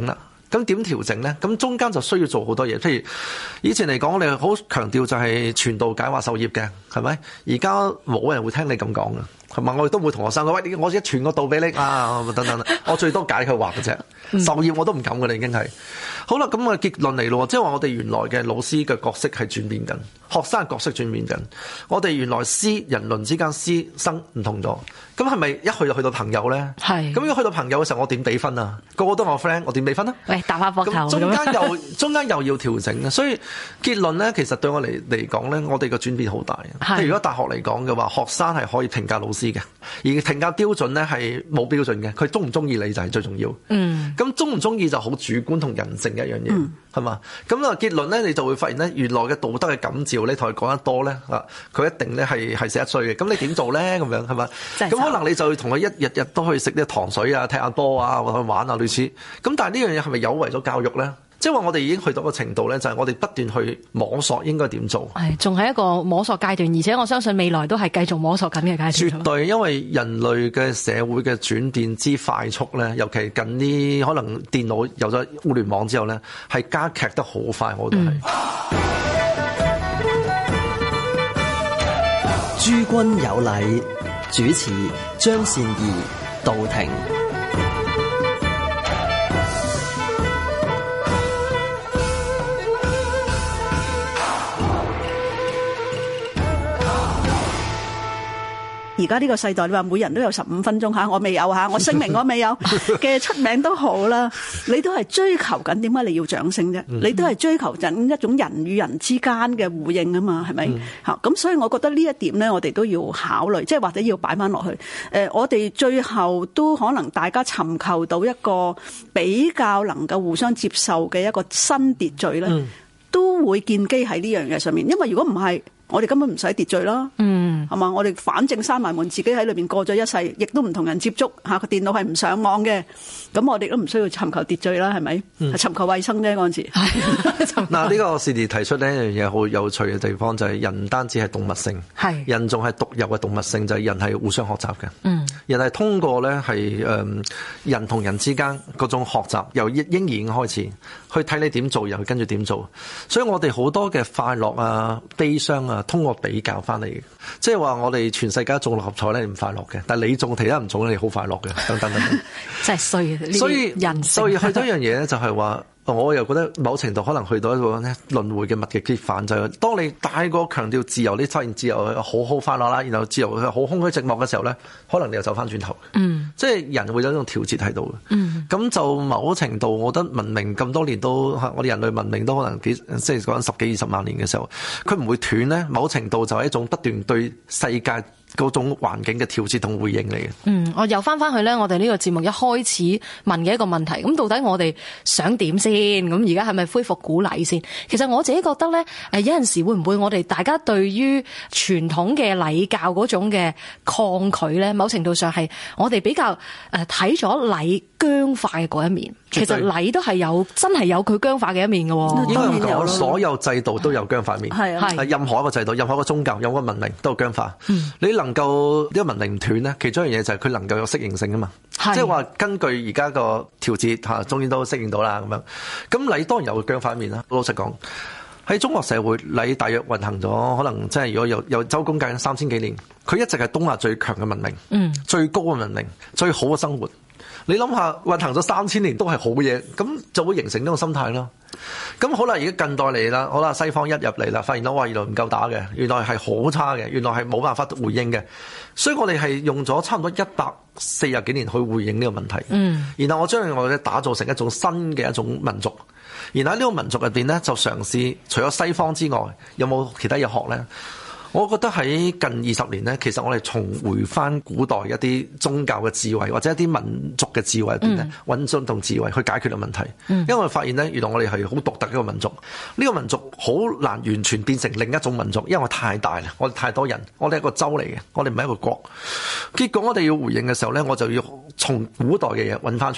咁點調整咧？咁中間就需要做好多嘢。譬如以前嚟講，我哋好強調就係傳道解話授業嘅，係咪？而家冇人會聽你咁講嘅。同埋我亦都會同學生講，喂，我一傳個道俾你啊，等等，我最多解佢話嘅啫，授業我都唔敢嘅啦，已經係。好啦，咁啊結論嚟咯，即係話我哋原來嘅老師嘅角色係轉變緊，學生嘅角色轉變緊。我哋原來師人倫之間師生唔同咗，咁係咪一去就去到朋友咧？係。咁如果去到朋友嘅時候，我點俾分啊？個個都係我 friend，我點俾分啊？喂，打下膊頭。咁中間又中間又要調整嘅，所以結論咧，其實對我嚟嚟講咧，我哋個轉變好大。譬如如果大學嚟講嘅話，學生係可以評價老師嘅，而評價標準咧係冇標準嘅，佢中唔中意你就係最重要。嗯。咁中唔中意就好主觀同人性嘅一樣嘢，係、嗯、嘛？咁啊結論咧，你就會發現咧，原來嘅道德嘅感召，你同佢講得多咧，啊，佢一定咧係係死得衰嘅。咁你點做咧？咁樣係嘛？咁可能你就同佢一日日都去食啲糖水啊、踢下波啊、或者去玩啊類似。咁但係呢樣嘢係咪有違咗教育咧？即係話我哋已經去到個程度咧，就係我哋不斷去摸索應該點做。係，仲係一個摸索階段，而且我相信未來都係繼續摸索緊嘅階段。絕對，因為人類嘅社會嘅轉變之快速咧，尤其近呢可能電腦有咗互聯網之後咧，係加劇得好快，我覺得係。 諸君有禮，主持張善儀道庭。 而家呢個世代，你話每人都有十五分鐘嚇，我未有嚇，我聲明我未有嘅出名都好啦，你都係追求緊點解你要掌聲啫？你都係追求緊一種人與人之間嘅互應啊嘛，係咪？嚇咁、嗯、所以我覺得呢一點咧，我哋都要考慮，即係或者要擺翻落去。誒、呃，我哋最後都可能大家尋求到一個比較能夠互相接受嘅一個新秩序咧，嗯、都會建基喺呢樣嘢上面。因為如果唔係，我哋根本唔使秩序啦，嗯，係嘛？我哋反正閂埋門，自己喺裏邊過咗一世，亦都唔同人接觸嚇，個電腦係唔上網嘅，咁我哋都唔需要尋求秩序啦，係咪？係、嗯、尋求衛生啫嗰陣時。嗱，呢個士迪提出呢一樣嘢好有趣嘅地方就係、是、人唔單止係動物性，係人仲係獨有嘅動物性，就係、是、人係互相學習嘅。嗯，人係通過咧係誒人同人之間嗰種學習，由嬰兒已經開始去睇你點做，又去跟住點做。所以我哋好多嘅快樂啊、悲傷啊，通過比較翻嚟嘅，即係話我哋全世界中六合彩咧唔快樂嘅，但係你中其他唔中咧，你好快樂嘅，等等等等，真係衰嘅。所以人所以去到一樣嘢咧，就係話。我又覺得某程度可能去到一個咧輪迴嘅物極必反，就係、是、當你太過強調自由，你發現自由好好快樂啦，然後自由好空虛寂寞嘅時候咧，可能你又走翻轉頭。嗯，即係人會有一種調節喺度嘅。嗯，咁就某程度，我覺得文明咁多年都，我哋人類文明都可能幾即係講緊十幾二十萬年嘅時候，佢唔會斷咧。某程度就係一種不斷對世界嗰種環境嘅調節同回應嚟嘅。嗯，我又翻翻去咧，我哋呢個節目一開始問嘅一個問題，咁到底我哋想點先？咁而家係咪恢復古禮先？其實我自己覺得咧，誒有陣時會唔會我哋大家對於傳統嘅禮教嗰種嘅抗拒咧，某程度上係我哋比較誒睇咗禮僵化嘅嗰一面。其實禮都係有真係有佢僵化嘅一面嘅。應該講所有制度都有僵化面，係啊，係任何一個制度、任何一個宗教、任何一個文明都有僵化。嗯，你能夠呢個文明唔斷咧，其中一樣嘢就係佢能夠有適應性啊嘛。即係話根據而家個調節嚇，終於都適應到啦咁樣。咁禮當然有僵化面啦。老實講，喺中國社會，禮大約運行咗可能即係如果有有周公計三千幾年，佢一直係東亞最強嘅文明，嗯，最高嘅文明，最好嘅生活。你諗下，運行咗三千年都係好嘢，咁就會形成呢個心態咯。咁好啦，而家近代嚟啦，好啦，西方一入嚟啦，發現到哇，原來唔夠打嘅，原來係好差嘅，原來係冇辦法回應嘅，所以我哋係用咗差唔多一百四十幾年去回應呢個問題。嗯，然後我將我哋打造成一種新嘅一種民族，然後喺呢個民族入邊咧，就嘗試除咗西方之外，有冇其他嘢學咧？我覺得喺近二十年咧，其實我哋重回翻古代一啲宗教嘅智慧，或者一啲民族嘅智慧入邊咧，揾進同智慧去解決個問題。嗯、因為我發現咧，原來我哋係好獨特嘅一個民族，呢、這個民族好難完全變成另一種民族，因為我太大啦，我哋太多人，我哋係一個州嚟嘅，我哋唔係一個國。結果我哋要回應嘅時候咧，我就要從古代嘅嘢揾翻出嚟。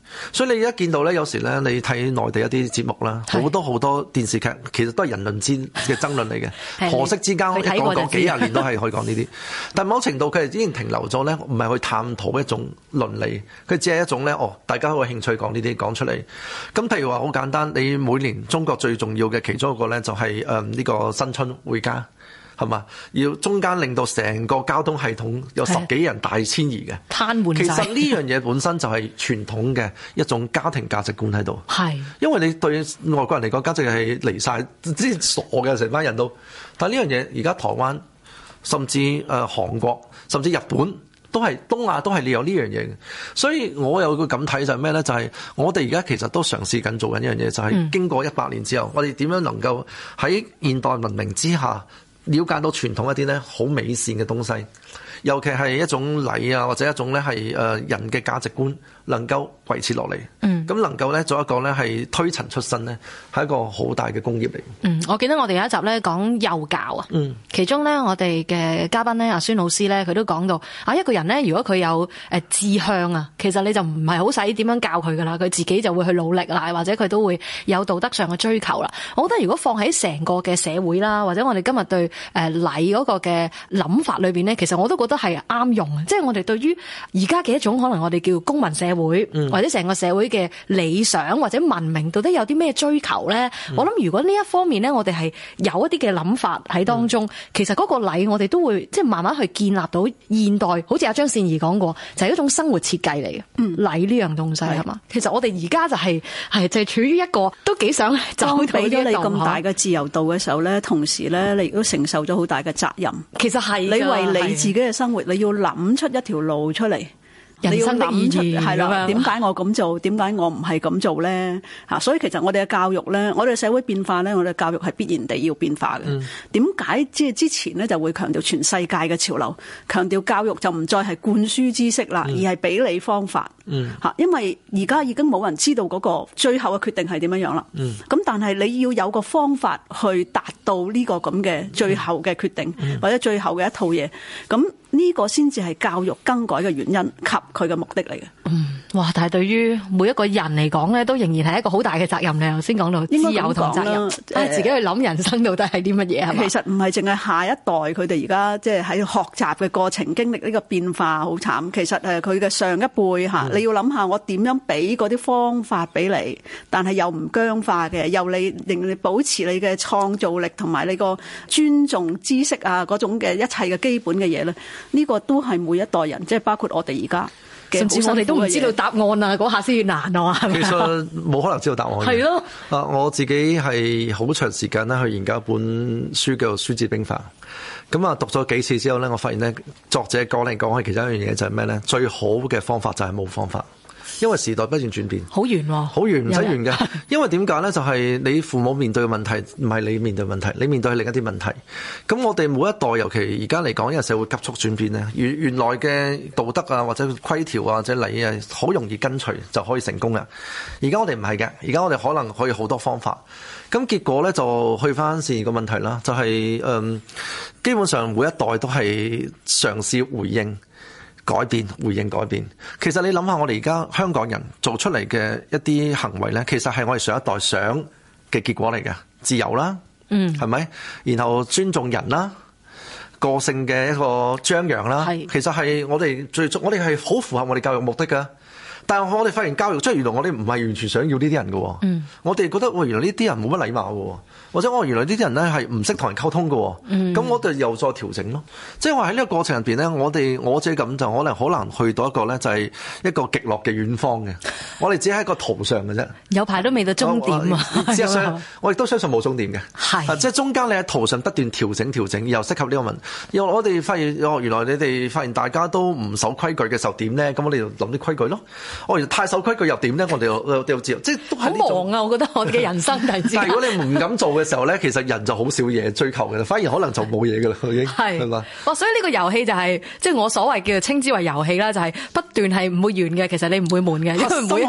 所以你而家見到咧，有時咧你睇內地一啲節目啦，好多好多電視劇其實都係人倫之嘅爭論嚟嘅，婆媳之間一講講幾廿年都係可以講呢啲。但某程度佢係已經停留咗咧，唔係去探討一種倫理，佢只係一種咧，哦，大家好有興趣講呢啲講出嚟。咁譬如話好簡單，你每年中國最重要嘅其中一個咧就係誒呢個新春回家。係嘛？要中間令到成個交通系統有十幾人大遷移嘅， 癱瘓晒。其實呢樣嘢本身就係傳統嘅一種家庭價值觀喺度。係，因為你對外國人嚟講，簡直係離晒，即係傻嘅成班人都。但係呢樣嘢而家台灣，甚至誒韓國，甚至日本都係東亞都係你有呢樣嘢嘅。所以我有個咁睇就係咩咧？就係、是、我哋而家其實都嘗試緊做緊一樣嘢，就係、是、經過一百年之後，嗯、我哋點樣能夠喺現代文明之下，了解到傳統一啲咧好美善嘅東西，尤其係一種禮啊，或者一種咧係誒人嘅價值觀能夠維持落嚟。嗯，咁能夠咧做一個咧係推陳出新咧，係一個好大嘅工業嚟。嗯， 我記得我哋有一集咧講幼教啊，嗯，其中咧我哋嘅嘉賓咧阿孫老師咧，佢都講到啊，一個人咧如果佢有誒志向啊，其實你就唔係好使點樣教佢噶啦，佢自己就會去努力啦，或者佢都會有道德上嘅追求啦。我覺得如果放喺成個嘅社會啦，或者我哋今日對誒禮嗰個嘅諗法裏邊咧，其實我都覺得係啱用嘅，即係我哋對於而家嘅一種可能我哋叫公民社會，嗯、或者成個社會嘅理想或者文明到底有啲咩追求咧？嗯、我諗如果呢一方面咧，我哋係有一啲嘅諗法喺當中，嗯、其實嗰個禮我哋都會即係慢慢去建立到現代，好似阿張善儀講過，就係、是、一種生活設計嚟嘅。嗯，禮呢樣東西係嘛？其實我哋而家就係、是、係就係、是、處於一個都幾想走到呢一度，你咁大嘅自由度嘅時候咧，同時咧你亦都承受咗好大嘅責任。其實係你為你自己嘅生活，你要諗出一條路出嚟。人生的意義係啦，點解我咁做？點解我唔係咁做咧？嚇！所以其實我哋嘅教育咧，我哋社會變化咧，我哋教育係必然地要變化嘅。點解即係之前咧就會強調全世界嘅潮流，強調教育就唔再係灌輸知識啦，嗯、而係俾你方法。嗯，嚇！因為而家已經冇人知道嗰個最後嘅決定係點樣樣啦。嗯，咁但係你要有個方法去達到呢個咁嘅最後嘅決定，嗯、或者最後嘅一套嘢，咁。呢個先至係教育更改嘅原因及佢嘅目的嚟嘅。嗯，哇！但係對於每一個人嚟講咧，都仍然係一個好大嘅責任。你頭先講到自由同責任，但係自己去諗人生到底係啲乜嘢係嘛？其實唔係淨係下一代佢哋而家即係喺學習嘅過程經歷呢個變化好慘。其實誒佢嘅上一輩嚇，嗯、你要諗下我點樣俾嗰啲方法俾你，但係又唔僵化嘅，又你令你保持你嘅創造力同埋你個尊重知識啊嗰種嘅一切嘅基本嘅嘢咧。呢個都係每一代人，即係包括我哋而家，甚至我哋都唔知道答案啊！嗰下先難啊！其實冇可能知道答案。係咯的，啊，我自己係好長時間咧去研究一本書叫做《孫子兵法》。咁啊，讀咗幾次之後咧，我發現咧，作者講嚟講去，其中一樣嘢就係咩咧？最好嘅方法就係冇方法。因為時代不斷轉變，好圓喎，好圓唔使圓嘅。因為點解咧？就係、是、你父母面對嘅問題，唔係你面對問題，你面對係另一啲問題。咁我哋每一代，尤其而家嚟講，因為社會急速轉變咧，原原來嘅道德啊，或者規條啊，或者禮啊，好容易跟隨就可以成功嘅。而家我哋唔係嘅，而家我哋可能可以好多方法。咁結果咧就去翻善個問題啦，就係、是、嗯，基本上每一代都係嘗試回應。改變，回應改變。其實你諗下，我哋而家香港人做出嚟嘅一啲行為咧，其實係我哋上一代想嘅結果嚟嘅，自由啦，嗯，係咪？然後尊重人啦，個性嘅一個張揚啦，係，其實係我哋最，我哋係好符合我哋教育目的㗎。但係我哋發現教育，即係原來我哋唔係完全想要呢啲人嘅。嗯，我哋覺得喂，原來呢啲人冇乜禮貌嘅，或者我原來呢啲人咧係唔識同人溝通嘅。嗯，咁我哋又再調整咯。即係話喺呢個過程入邊咧，我哋我自己咁就可能好難去到一個咧，就係一個極樂嘅遠方嘅。我哋只係一個途上嘅啫。有排都未到終點啊！事實上，我亦都相信冇終點嘅。係，即係中間你喺途上不斷調整調整，又適合呢個問題。又我哋發現，哦，原來你哋發現大家都唔守規矩嘅時候點咧？咁我哋就諗啲規矩咯。哦，太守規矩又點咧？我哋又又知，即係都係好忙啊！我覺得我哋嘅人生係。但係如果你唔敢做嘅時候咧，其實人就好少嘢追求嘅啦，反而可能就冇嘢嘅啦，已經係係嘛？哇！所以呢個遊戲就係即係我所謂叫做稱之為遊戲啦，就係不斷係唔會完嘅。其實你唔會悶嘅，因為每一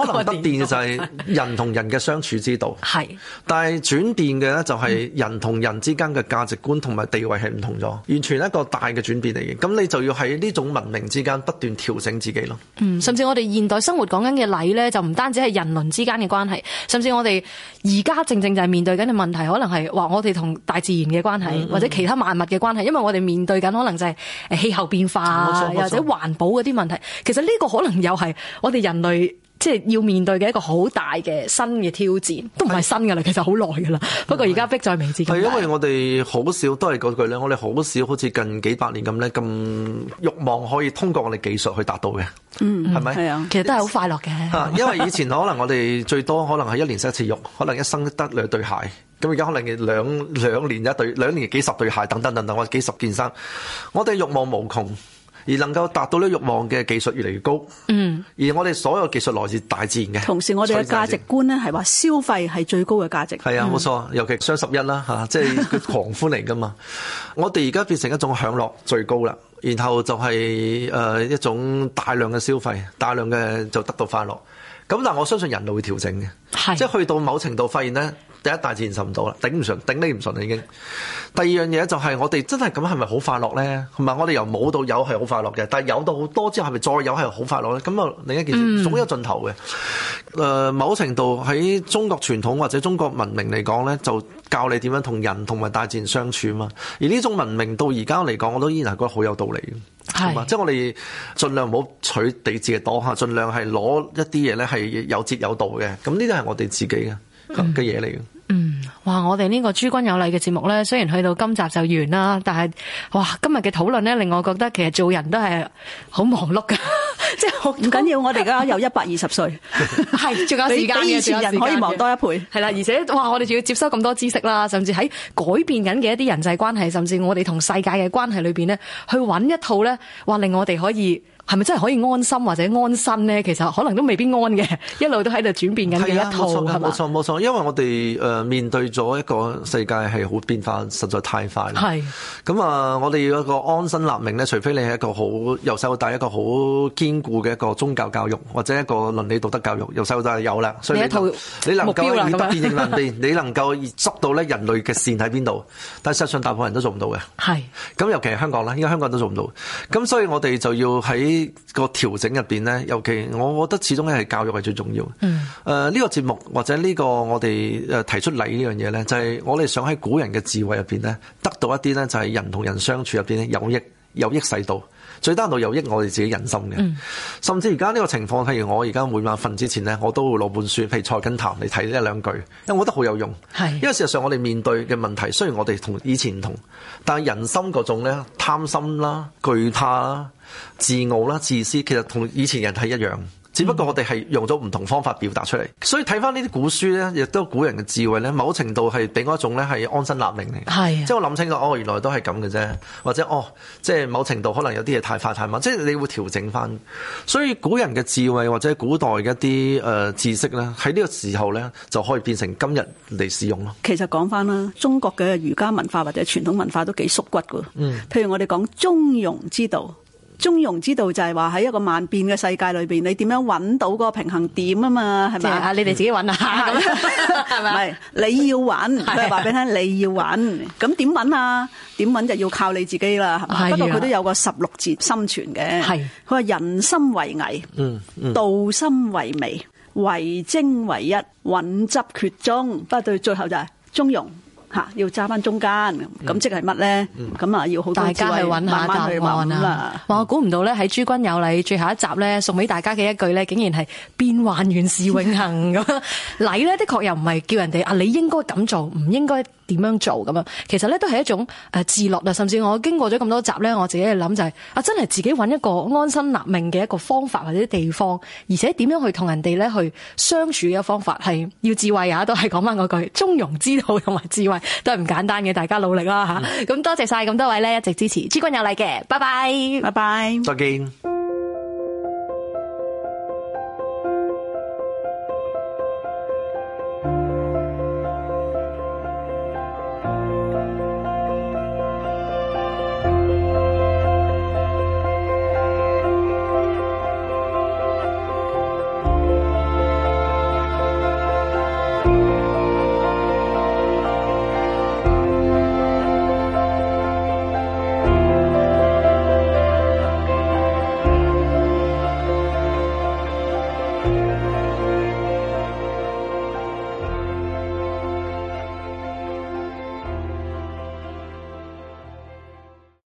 可能不變嘅就係人同人嘅相處之道。 係， 但係轉變嘅咧就係人同人之間嘅價值觀同埋地位係唔同咗，完全一個大嘅轉變嚟嘅。咁你就要喺呢種文明之間不斷調整自己咯。 嗯，甚至我哋現代生活講緊嘅禮咧，就唔單止係人倫之間嘅關係，甚至我哋而家正正就係面對緊嘅問題，可能係話我哋同大自然嘅關係，嗯嗯或者其他萬物嘅關係，因為我哋面對緊可能就係誒氣候變化，又或者環保嗰啲問題。其實呢個可能又係我哋人類即係要面對嘅一個好大嘅新嘅挑戰，都唔係新㗎啦，其實好耐㗎啦。不過而家迫在眉睫。係因為我哋好少都係嗰句咧，我哋好少好似近幾百年咁咧咁慾望可以通過我哋技術去達到嘅。嗯，係咪？係啊， 其實都係好快樂嘅。 啊，因為以前可能我哋最多可能係一年洗一次浴，可能一生得兩對鞋。咁而家可能兩兩年一對，兩年幾十對鞋，等等等等，或者幾十件衫。我哋慾望無窮。而能夠達到呢個慾望嘅技術越嚟越高，嗯，而我哋所有技術來自大自然嘅。 同時，我哋嘅價值觀咧係話消費係最高嘅價值。 係啊，冇錯，尤其雙十一啦嚇，即係佢狂歡嚟噶嘛。我哋而家變成一種享樂最高啦，然後就係誒一種大量嘅消費，大量嘅就得到快樂。咁但係我相信人類會調整嘅，即係去到某程度發現咧。第一，大自然受唔到啦，頂唔順，頂你唔順啦已經。第二樣嘢就係我哋真係咁係咪好快樂咧？同埋我哋由冇到有係好快樂嘅，但係有到好多之後係咪再有係好快樂咧？咁啊另一件事總有盡頭嘅。誒、呃，某程度喺中國傳統或者中國文明嚟講咧，就教你點樣同人同埋大自然相處啊嘛。而呢種文明到而家嚟講，我都依然係覺得好有道理嘅。係嘛，即係我哋盡量唔好取地字嘅多嚇，盡量係攞一啲嘢咧係有節有道嘅。咁呢啲係我哋自己嘅嘅嘢嚟嘅。 嗯，哇！我哋呢個諸君有禮嘅節目咧，雖然去到今集就完啦，但係哇，今日嘅討論咧，令我覺得其實做人都係好忙碌㗎，即係唔緊要。我哋而家有一百二十歲， 係仲有時間嘅， 比以前人可以忙多一倍。 係啦，而且哇，我哋仲要接收咁多知識啦，甚至喺改變緊嘅一啲人際關係，甚至我哋同世界嘅關係裏邊咧，去揾一套咧，話令我哋可以。係咪真係可以安心或者安身咧？其實可能都未必安嘅，一路都喺度轉變緊嘅一套係嘛？ 冇錯冇錯，因為我哋誒面對咗一個世界係好變化，實在太快啦。係咁啊！我哋要一個安身立命咧，除非你係一個好由細到大一個好堅固嘅一個宗教教育或者一個倫理道德教育，由細到大有啦。所以你，你，你能夠以不變應萬變，你能夠捉到咧人類嘅線喺邊度？但係實際上大部分人都做唔到嘅。係咁，尤其係香港啦，依家香港人都做唔到。咁所以我哋就要喺個調整入邊咧，尤其我覺得始終咧係教育係最重要。嗯。誒、呃，呢、這個節目或者呢個我哋誒提出禮呢樣嘢咧，就係、是、我哋想喺古人嘅智慧入邊咧，得到一啲咧就係人同人相處入邊咧有益有益世道，最低限度有益我哋自己人心嘅。嗯。甚至而家呢個情況，譬如我而家每晚瞓之前咧，我都會攞本書，譬如《菜根譚》嚟睇一兩句，因為我覺得好有用。係。因為事實上我哋面對嘅問題，雖然我哋同以前唔同，但係人心嗰種咧貪心啦、懼怕啦、自傲啦、自私，其實同以前人係一樣，只不過我哋係用咗唔同方法表達出嚟。所以睇翻呢啲古書咧，亦都古人嘅智慧咧，某程度係俾我一種咧係安身立命嚟。係，即係我諗清楚，哦，原來都係咁嘅啫，或者哦，即係某程度可能有啲嘢太快太慢，即係你會調整翻。所以古人嘅智慧或者古代嘅一啲誒知識咧，喺呢個時候咧就可以變成今日嚟使用咯。其實講翻啦，中國嘅儒家文化或者傳統文化都幾縮骨噶。嗯，譬如我哋講中庸之道。中庸之道就係話喺一個萬變嘅世界裏邊，你點樣揾到嗰個平衡點啊嘛？係咪啊？你哋自己揾下咁，係咪？唔係你要揾，佢係話俾你聽，你要揾。咁點揾啊？點揾就要靠你自己啦。係嘛？不過佢都有個十六字心存嘅。係佢話人心為危，嗯嗯、道心為微，為精為一，穩執決中。不過到最後就係中庸。吓，要揸翻中間，咁、嗯、即係乜咧？咁、嗯、啊，要好多大家去揾下答案啦。哇，我估唔到咧，喺諸君有禮最後一集咧，送俾大家嘅一句咧，竟然係變幻原是永恆咁。禮咧的確又唔係叫人哋啊，你應該咁做，唔應該點樣做咁樣。其實咧都係一種誒自律啊。甚至我經過咗咁多集咧，我自己去諗就係、是、啊，真係自己揾一個安身立命嘅一個方法或者地方，而且點樣去同人哋咧去相處嘅方法係要智慧啊，都係講翻嗰句中庸之道同埋智慧。都係唔簡單嘅，大家努力啦吓！咁、嗯、多謝晒咁多位咧，一直支持諸君有禮嘅，拜拜，拜拜，再見。